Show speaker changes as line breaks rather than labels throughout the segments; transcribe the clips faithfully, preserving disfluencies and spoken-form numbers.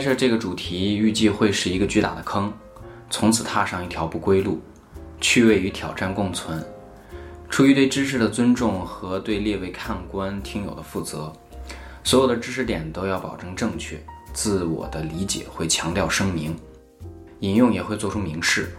设这个主题预计会是一个巨大的坑，从此踏上一条不归路，趣味与挑战共存。出于对知识的尊重和对列位看官听友的负责，所有的知识点都要保证正确，自我的理解会强调声明，引用也会做出明示。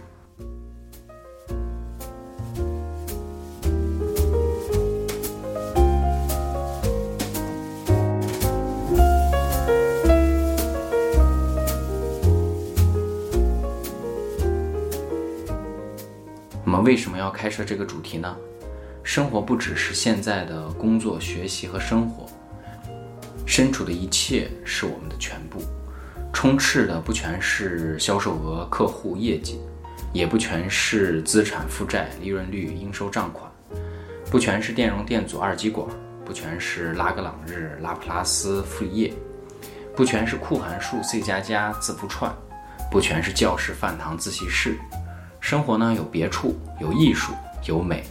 我们为什么要开设这个主题呢？生活不只是现在的工作、学习和生活，身处的一切是我们的全部。充斥的不全是销售额、客户业绩，也不全是资产负债、利润率、应收账款，不全是电容电阻、二极管，不全是拉格朗日、拉普拉斯傅里叶，不全是酷函数、C 加加、字符串，不全是教室、饭堂、自习室。生活呢，有别处，有艺术，有美。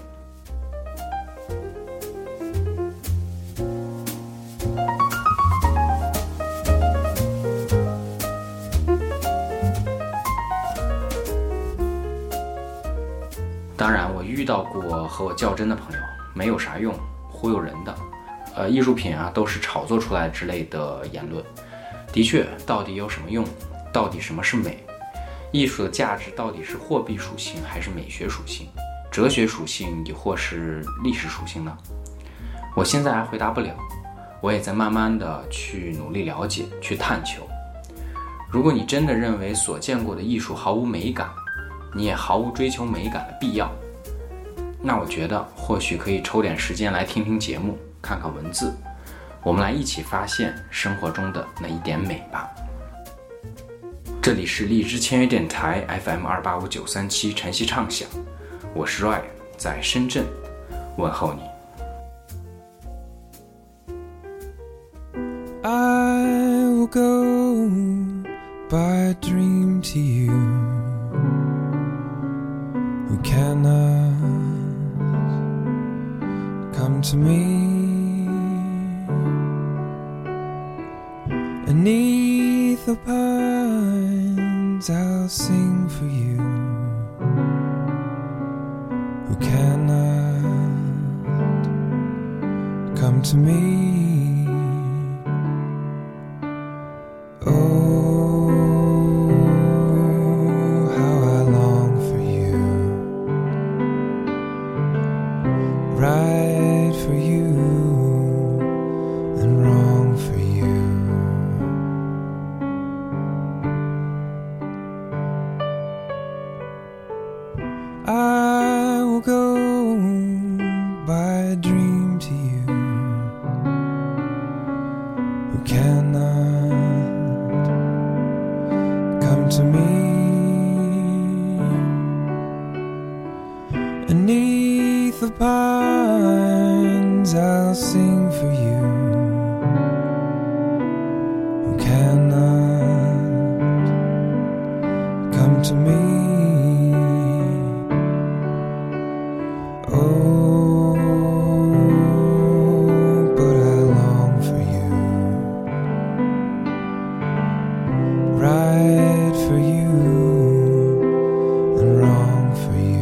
当然，我遇到过和我较真的朋友，没有啥用，忽悠人的。呃，艺术品啊，都是炒作出来之类的言论。的确，到底有什么用？到底什么是美？艺术的价值到底是货币属性还是美学属性、哲学属性，亦或是历史属性呢？我现在还回答不了，我也在慢慢的去努力了解，去探求。如果你真的认为所见过的艺术毫无美感，你也毫无追求美感的必要，那我觉得或许可以抽点时间来听听节目，看看文字，我们来一起发现生活中的那一点美吧。这里是荔枝签约电台 F M 二八五九三七晨曦畅想，我是 Roy， 在深圳问候你。
I will go by a dream to you who cannot come to me beneath the pines. I'll sing for you who cannot come to me. Oh, how I long for you, right for you and wrong for you. I will go by a dream to you who cannot come to me beneath the pines. I'll sing for you who cannot come to me. Oh, but I long for you, right for you and wrong for you.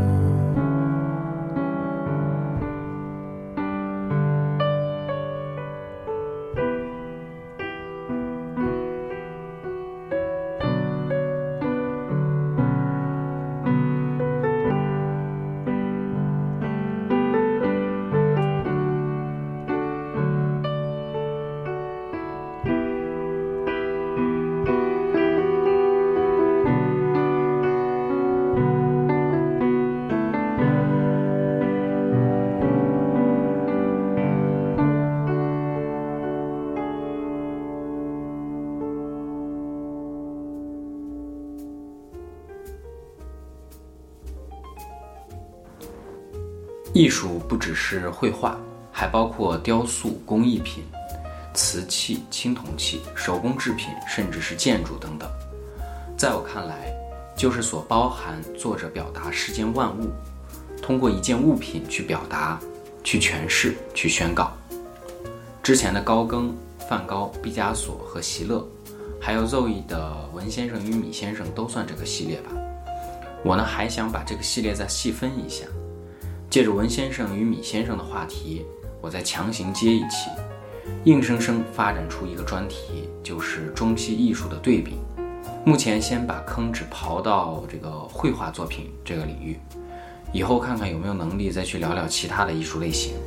艺术不只是绘画，还包括雕塑、工艺品、瓷器、青铜器、手工制品，甚至是建筑等等。在我看来，就是所包含作者表达世间万物，通过一件物品去表达、去诠释、去宣告。之前的高更、梵高、毕加索和席勒， 还有 Zoe 的文先生与米先生都算这个系列吧。我呢还想把这个系列再细分一下，借着文先生与米先生的话题，我再强行接一期，硬生生发展出一个专题，就是中西艺术的对比。目前先把坑只刨到这个绘画作品这个领域，以后看看有没有能力再去聊聊其他的艺术类型。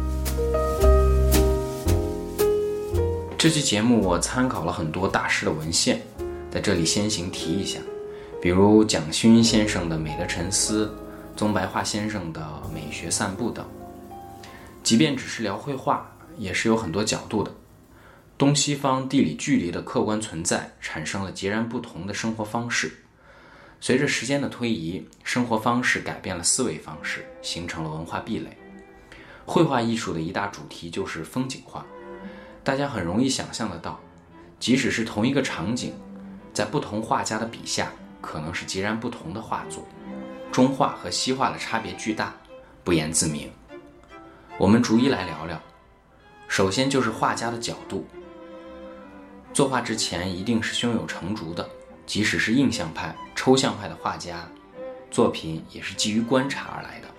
这期节目我参考了很多大师的文献，在这里先行提一下，比如蒋勋先生的《美的沉思》，宗白桦先生的《美学散步》等。即便只是聊绘画，也是有很多角度的。东西方地理距离的客观存在，产生了截然不同的生活方式。随着时间的推移，生活方式改变了思维方式，形成了文化壁垒。绘画艺术的一大主题就是风景画。大家很容易想象得到，即使是同一个场景，在不同画家的笔下，可能是截然不同的画作。中画和西画的差别巨大，不言自明。我们逐一来聊聊。首先就是画家的角度。作画之前一定是胸有成竹的，即使是印象派、抽象派的画家，作品也是基于观察而来的。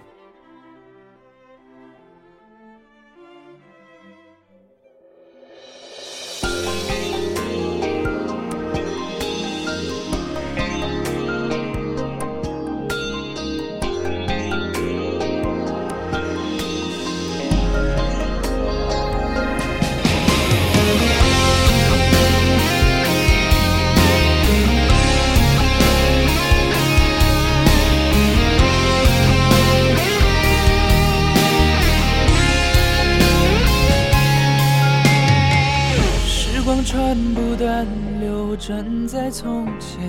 船不断流转在从前，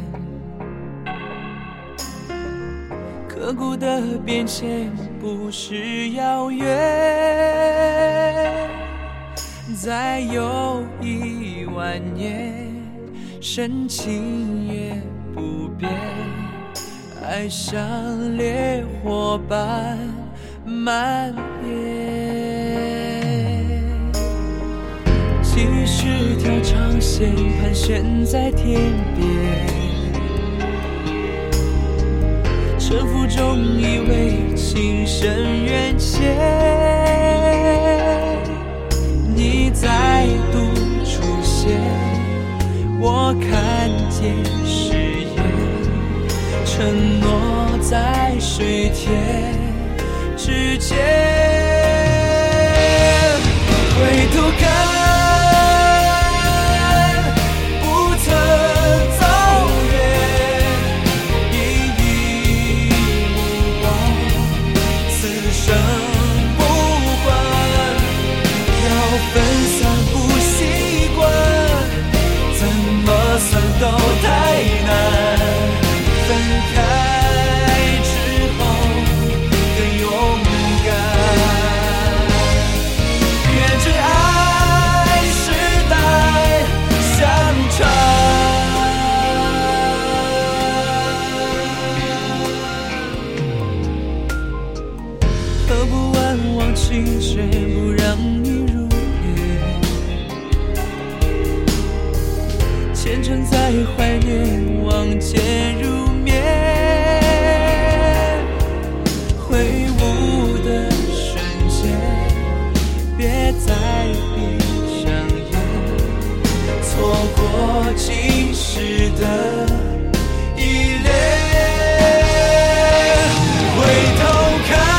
刻骨的变迁不是遥远，再有一万年，深情也不变，爱像烈火般蔓延。几十条长线盘旋在天边，沉浮中以为情深缘浅，你再度出现，我看见誓言，承诺在水天之间，回头看都太难，分开之后更勇敢，愿真爱世代相传。喝不完忘情，却不让你入虔诚在怀念，望见入眠，挥舞的瞬间，别再闭上眼，错过今世的依恋。回头看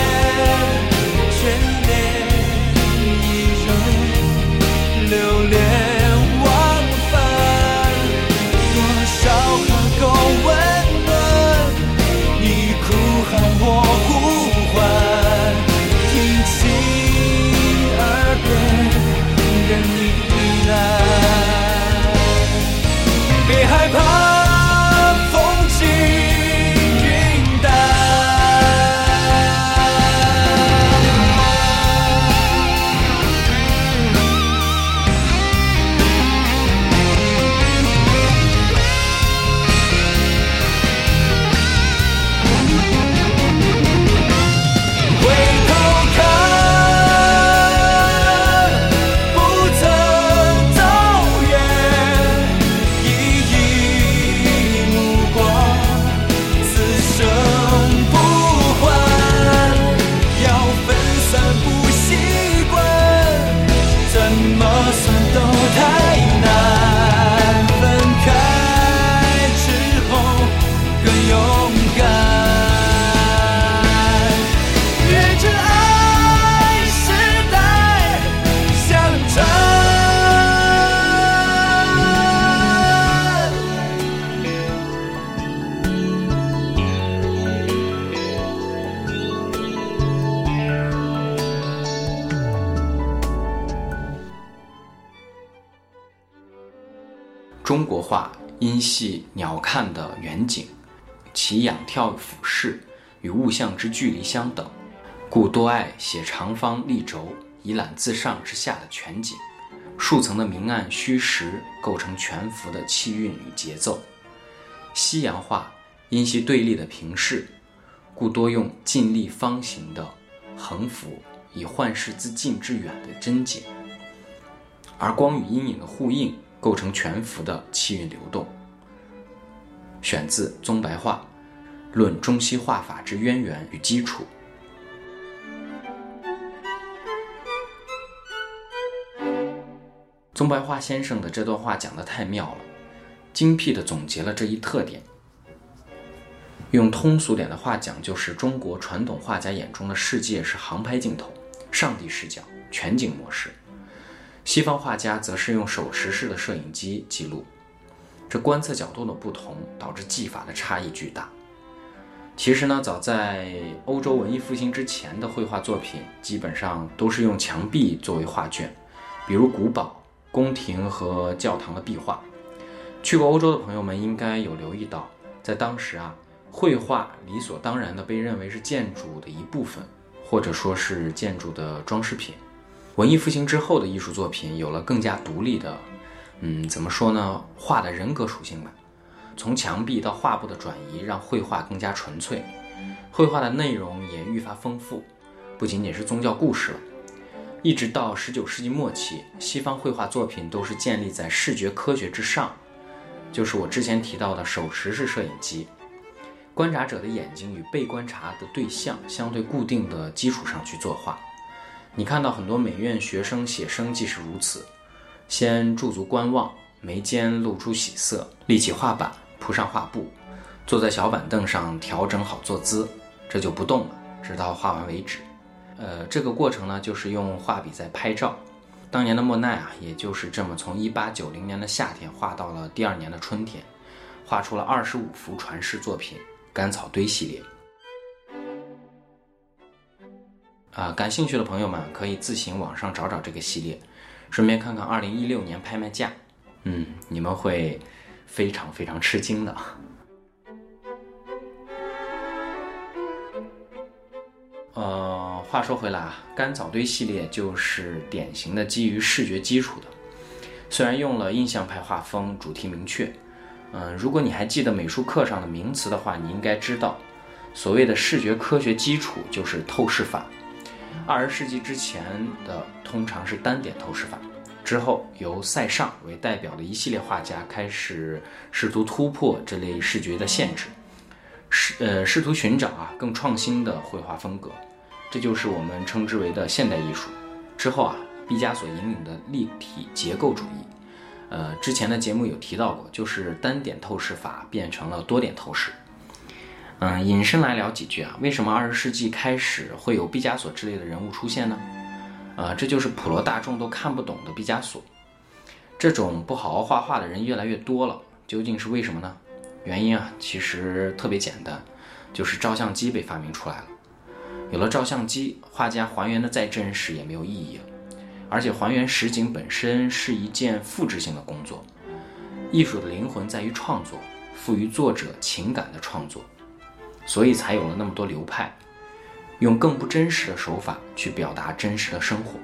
留恋
中国画因系鸟瞰的远景，其仰眺俯视与物象之距离相等，故多爱写长方立轴，以览自上至下的全景，数层的明暗虚实构成全幅的气韵与节奏。西洋画因系对立的平视，故多用近立方形的横幅，以幻视自近至远的真景，而光与阴影的互映构成全幅的气韵流动。选自宗白话，论中西画法之渊源与基础。宗白话先生的这段话讲得太妙了，精辟地总结了这一特点。用通俗点的话讲，就是中国传统画家眼中的世界是航拍镜头、上帝视角、全景模式，西方画家则是用手持式的摄影机记录。这观测角度的不同，导致技法的差异巨大。其实呢，早在欧洲文艺复兴之前的绘画作品，基本上都是用墙壁作为画卷，比如古堡、宫廷和教堂的壁画。去过欧洲的朋友们应该有留意到，在当时啊，绘画理所当然的被认为是建筑的一部分，或者说是建筑的装饰品。文艺复兴之后的艺术作品有了更加独立的，嗯，怎么说呢，画的人格属性吧。从墙壁到画布的转移，让绘画更加纯粹，绘画的内容也愈发丰富，不仅仅是宗教故事了。一直到十九世纪末期，西方绘画作品都是建立在视觉科学之上，就是我之前提到的手持式摄影机，观察者的眼睛与被观察的对象相对固定的基础上去作画。你看到很多美院学生写生即是如此，先驻足观望，眉间露出喜色，立起画板，铺上画布，坐在小板凳上调整好坐姿，这就不动了，直到画完为止。呃，这个过程呢，就是用画笔在拍照。当年的莫奈啊，也就是这么从一八九零年的夏天画到了第二年的春天，画出了二十五幅传世作品《干草堆》系列。啊、呃，感兴趣的朋友们可以自行网上找找这个系列，顺便看看二零一六年拍卖价。嗯，你们会非常非常吃惊的。呃，话说回来啊，干草堆系列就是典型的基于视觉基础的，虽然用了印象派画风，主题明确。嗯、呃，如果你还记得美术课上的名词的话，你应该知道，所谓的视觉科学基础就是透视法。二十世纪之前的通常是单点透视法，之后由塞尚为代表的一系列画家开始试图突破这类视觉的限制，试呃试图寻找啊更创新的绘画风格，这就是我们称之为的现代艺术。之后啊，毕加索引领的立体结构主义，呃之前的节目有提到过，就是单点透视法变成了多点透视。嗯，引申来聊几句啊，为什么二十世纪开始会有毕加索之类的人物出现呢？呃，这就是普罗大众都看不懂的毕加索。这种不好好画画的人越来越多了，究竟是为什么呢？原因啊，其实特别简单，就是照相机被发明出来了。有了照相机，画家还原的再真实也没有意义了，而且还原实景本身是一件复制性的工作。艺术的灵魂在于创作，赋予作者情感的创作，所以才有了那么多流派，用更不真实的手法去表达真实的生活。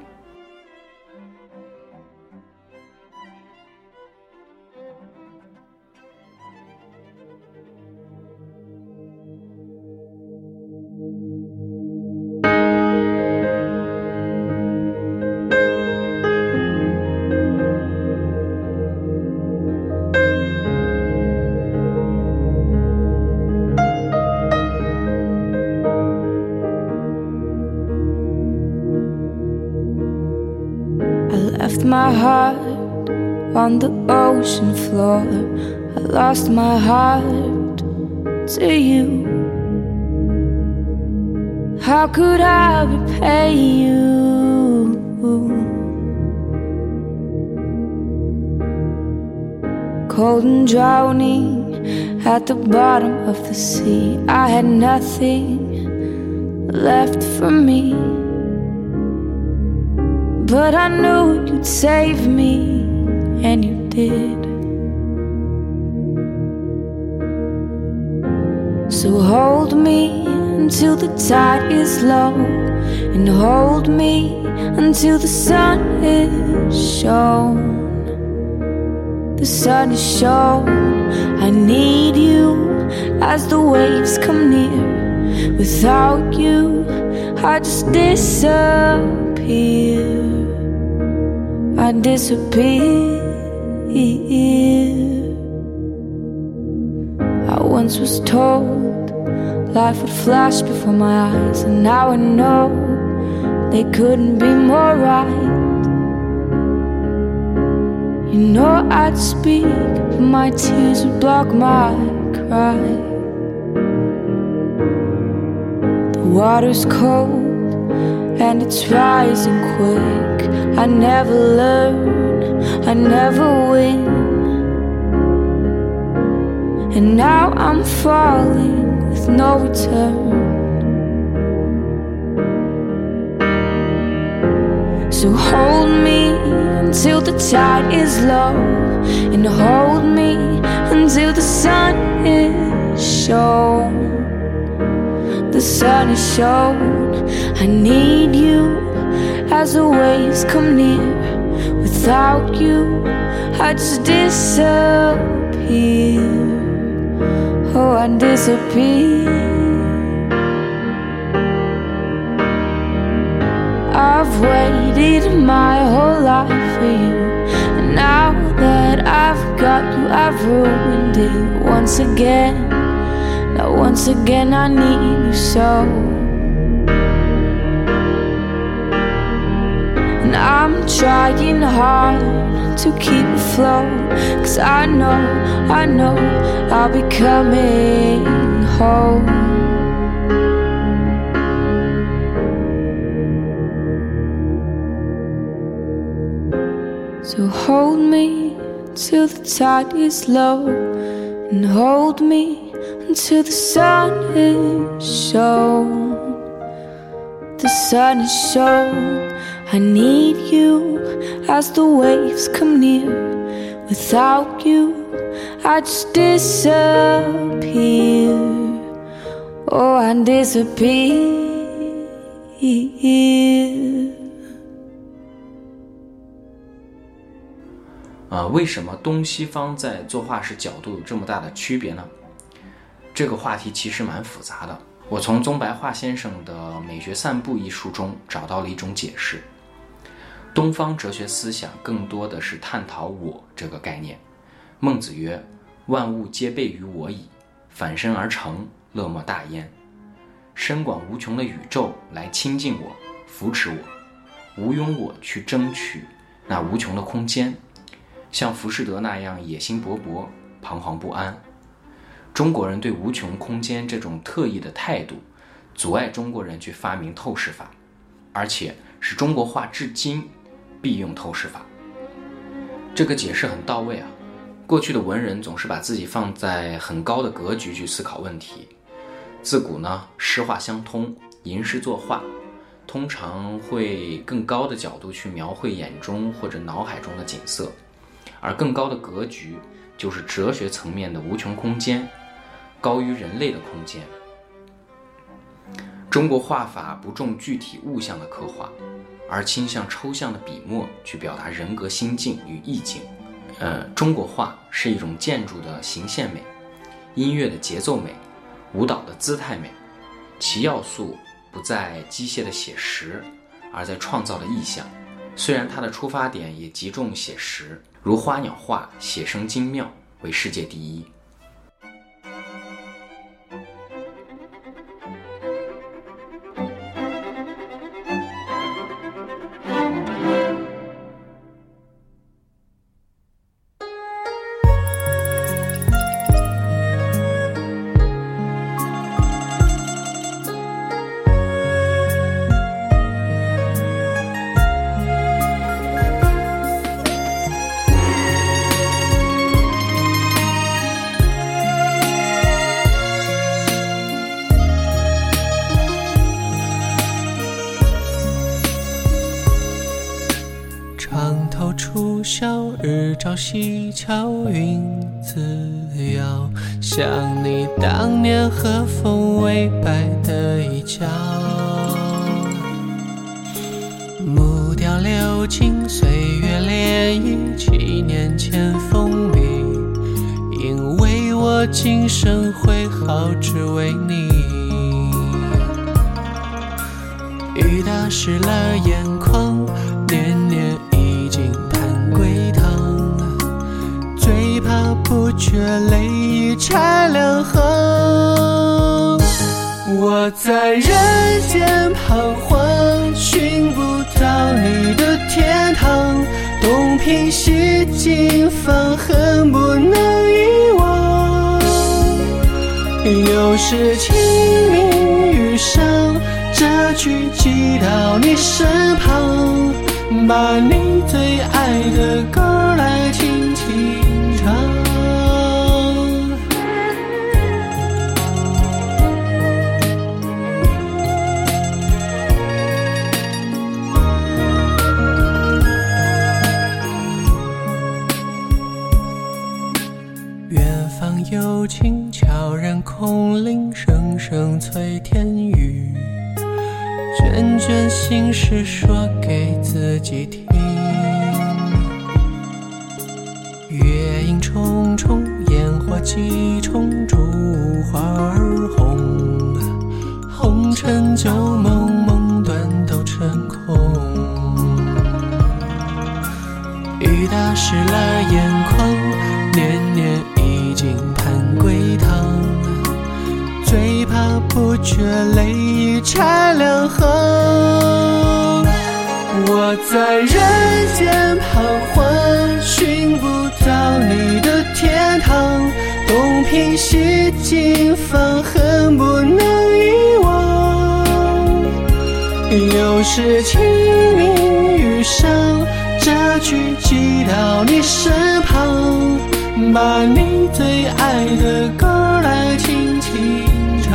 Left my heart on the ocean floor. I lost my heart to you. How could I repay you? Cold and drowning at the bottom of the sea, I had nothing left for me. But I knew you'd save me, and you did. So hold me until the tide is low, and hold me until the sun is shown. The sun is shown. I need you as the waves come near. Without you, I just disappear. I disappear. I once was told life would flash before my eyes, and now I know they couldn't be more right. You know I'd speak, but my tears would block my cry. The water's cold and it's rising quick. I never learn, I never win. And now I'm falling with no return. So hold me until the tide is low, and hold me until the sun is shown. The sun is shown. I need you as the waves come near. Without you, I just disappear. Oh, I disappear. I've waited my whole life for you, and now that I've got you, I've ruined it once again. Now once again I need you so. And I'm trying hard to keep afloat, 'cause I know, I know I'll be coming home. So hold me till the tide is low, and hold me until the sun is shown. The sun is shown. I need you as the waves come near. Without you, I just disappear. Oh, I disappear.
呃，为什么东西方在作画时角度有这么大的区别呢？这个话题其实蛮复杂的。我从宗白桦先生的《美学散步》一书中找到了一种解释。东方哲学思想更多的是探讨我这个概念。孟子曰：万物皆备于我矣，反身而成，乐莫大焉。深广无穷的宇宙来亲近我，扶持我，无庸我去争取那无穷的空间，像浮士德那样野心勃勃，彷徨不安。中国人对无穷空间这种特异的态度，阻碍中国人去发明透视法，而且使中国画至今必用透视法。这个解释很到位啊。过去的文人总是把自己放在很高的格局去思考问题。自古呢，诗画相通，吟诗作画，通常会更高的角度去描绘眼中或者脑海中的景色，而更高的格局就是哲学层面的无穷空间，高于人类的空间。中国画法不重具体物象的刻画，而倾向抽象的笔墨去表达人格心境与意境。呃，中国画是一种建筑的形线美，音乐的节奏美，舞蹈的姿态美，其要素不在机械的写实，而在创造的意象。虽然它的出发点也极重写实，如花鸟画写生精妙，为世界第一。
初晓日照西桥，云自遥， 像你当年和风微摆的一角。木雕流金，岁月涟漪，七年前封笔，因为我今生会好，只为你。雨打湿了眼眶，年年已经盼归堂，最怕不觉泪已拆两行。我在人间彷徨，寻不到你的天堂，东拼西尽，放恨不能遗忘。又是清明雨上，这句寄到你身旁，把你最爱的歌来轻轻唱。远方有情悄然空灵，声声催天雨，卷卷心事说给自己听。月影重重，烟火几重，烛花儿红，红尘旧梦，梦断都成空。雨打湿了眼眶，年年已经盼归堂，最怕不觉泪已拆两行。我在人间彷徨，寻不到你的天堂，东拼西尽，放恨不能遗忘。又是清明雨上，这句寄到你身旁，把你最爱的歌来轻轻唱。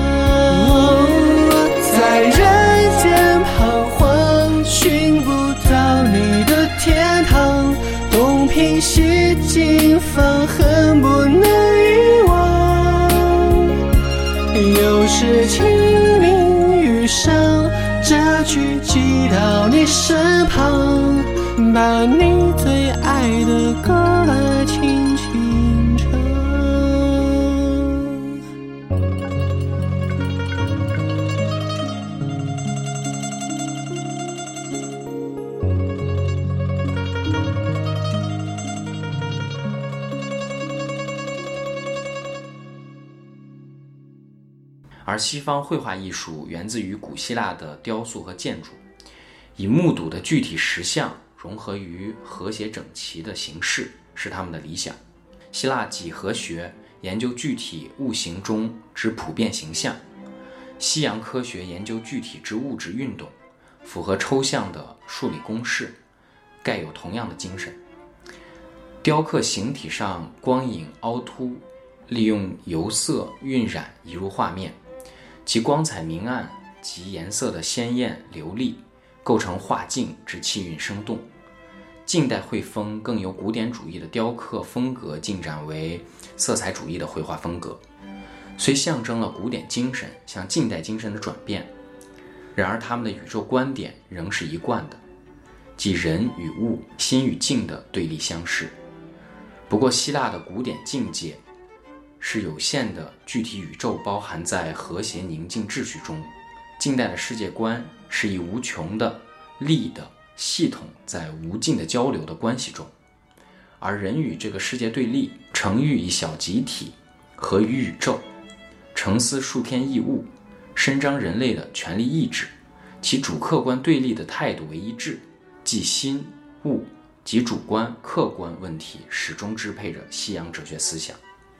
在人间彷徨，寻不到你的天堂，东拼西尽，放恨不能遗忘。又是清明雨上，这句寄到你身旁，把你最爱的歌来轻轻唱。
而西方绘画艺术源自于古希腊的雕塑和建筑，以目睹的具体实像融合于和谐整齐的形式是他们的理想。希腊几何学研究具体物形中之普遍形象，西洋科学研究具体之物质运动，符合抽象的数理公式，盖有同样的精神。雕刻形体上光影凹凸，利用油色晕染移入画面，其光彩明暗及颜色的鲜艳流丽，构成画境之气韵生动。近代绘风更由古典主义的雕刻风格进展为色彩主义的绘画风格，虽象征了古典精神向近代精神的转变，然而他们的宇宙观点仍是一贯的，即人与物、心与境的对立相视。不过希腊的古典境界是有限的具体宇宙包含在和谐宁静秩序中，近代的世界观是以无穷的力的系统在无尽的交流的关系中，而人与这个世界对立，成喻以小集体合于宇宙，成思数天异物，伸张人类的权利意志，其主客观对立的态度为一致，即心物及主观客观问题始终支配着西洋哲学思想。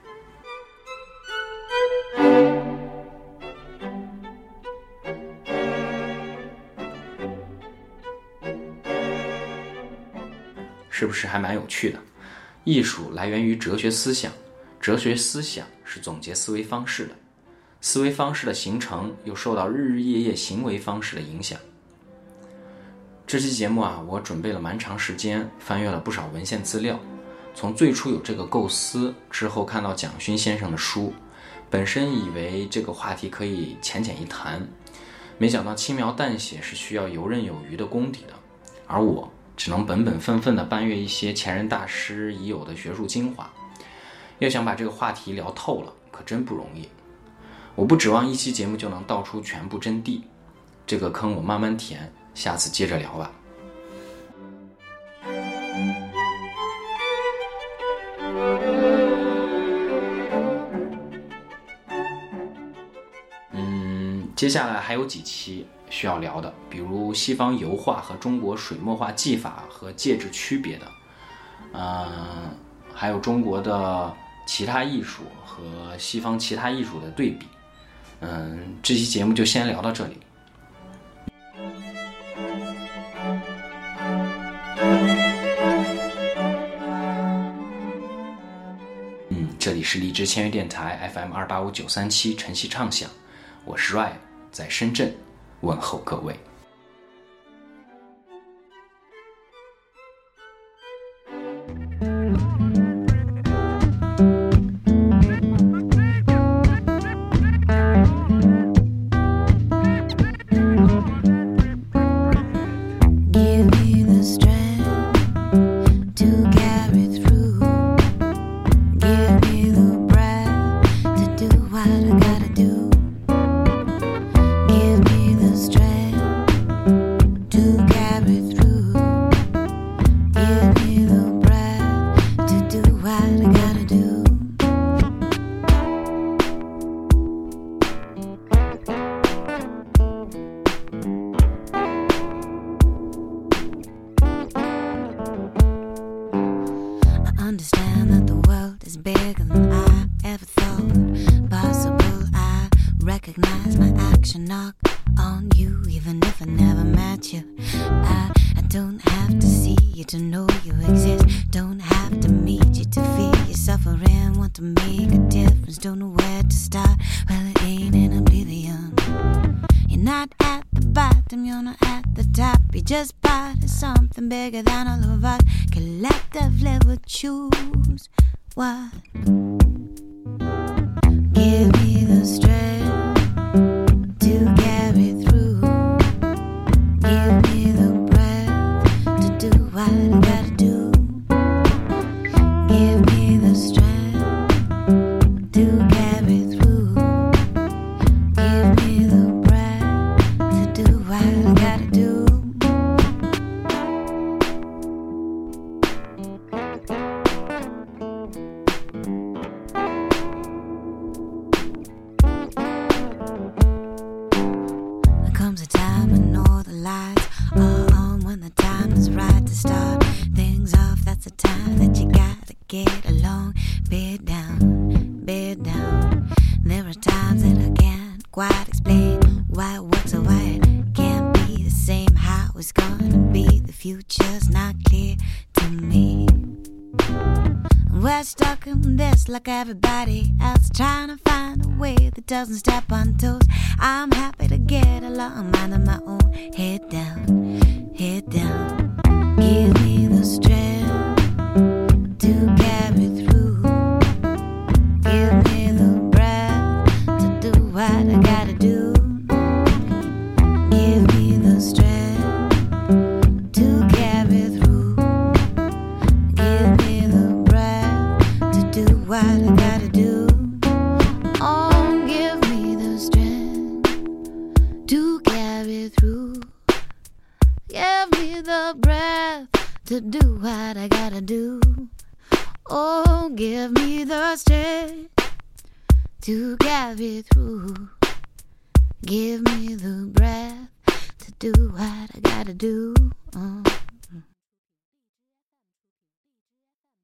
是不是还蛮有趣的？艺术来源于哲学思想，哲学思想是总结思维方式的，思维方式的形成又受到日日夜夜行为方式的影响。这期节目啊，我准备了蛮长时间，翻阅了不少文献资料， 从最初有这个构思之后，看到蒋勋先生的书，本身以为这个话题可以浅浅一谈，没想到轻描淡写是需要游刃有余的功底的，而我只能本本分分地搬阅一些前人大师已有的学术精华。要想把这个话题聊透了，可真不容易。我不指望一期节目就能道出全部真谛，这个坑我慢慢填，下次接着聊吧。嗯，接下来还有几期需要聊的，比如西方油画和中国水墨画技法和介质区别的，嗯，还有中国的其他艺术和西方其他艺术的对比。嗯，这期节目就先聊到这里。嗯，这里是荔枝签约电台 F M 二八五九三七晨曦畅想，我是 Ryan， 在深圳问候各位。
Understand that the world is bigger than I ever thought possible. I recognize my action knock on you, even if I never met you. I, I don't have to see you to know you exist. Don't have to meet you to feel your suffering. Want to make a difference, don't know where to start. Well, it ain't in oblivion. You're not at the bottom, you're not at the top. You're just part of something bigger than all of us. Collectively we'll choose what. Give me the strength to carry through. Give me the breath to do what I gotta do. Give me the strength to carry through. Give me the breath to do what I gotta do. There comes a time when all the lights are on, when the time is right to start things off. That's the time that you gotta get along. Bed down, bed down. There are times that I can't quite explain why it works or why it can't be the same. How it's gonna be, the future's not clear to me. We're stuck in this like everybody else, trying to find a way that doesn't step on toes. I'm happy to get along, minding my own. Head down, head down. Give me the strength to carry through. Give me the breath to do what I gotta do. Give me the strength to carry through. Give me the breath to do what I gotta do. Oh, give me the strength to carry through. Give me the breath to do what I gotta do. Oh, give me the strength to carry through. Give me the breath to do what I gotta do. Oh.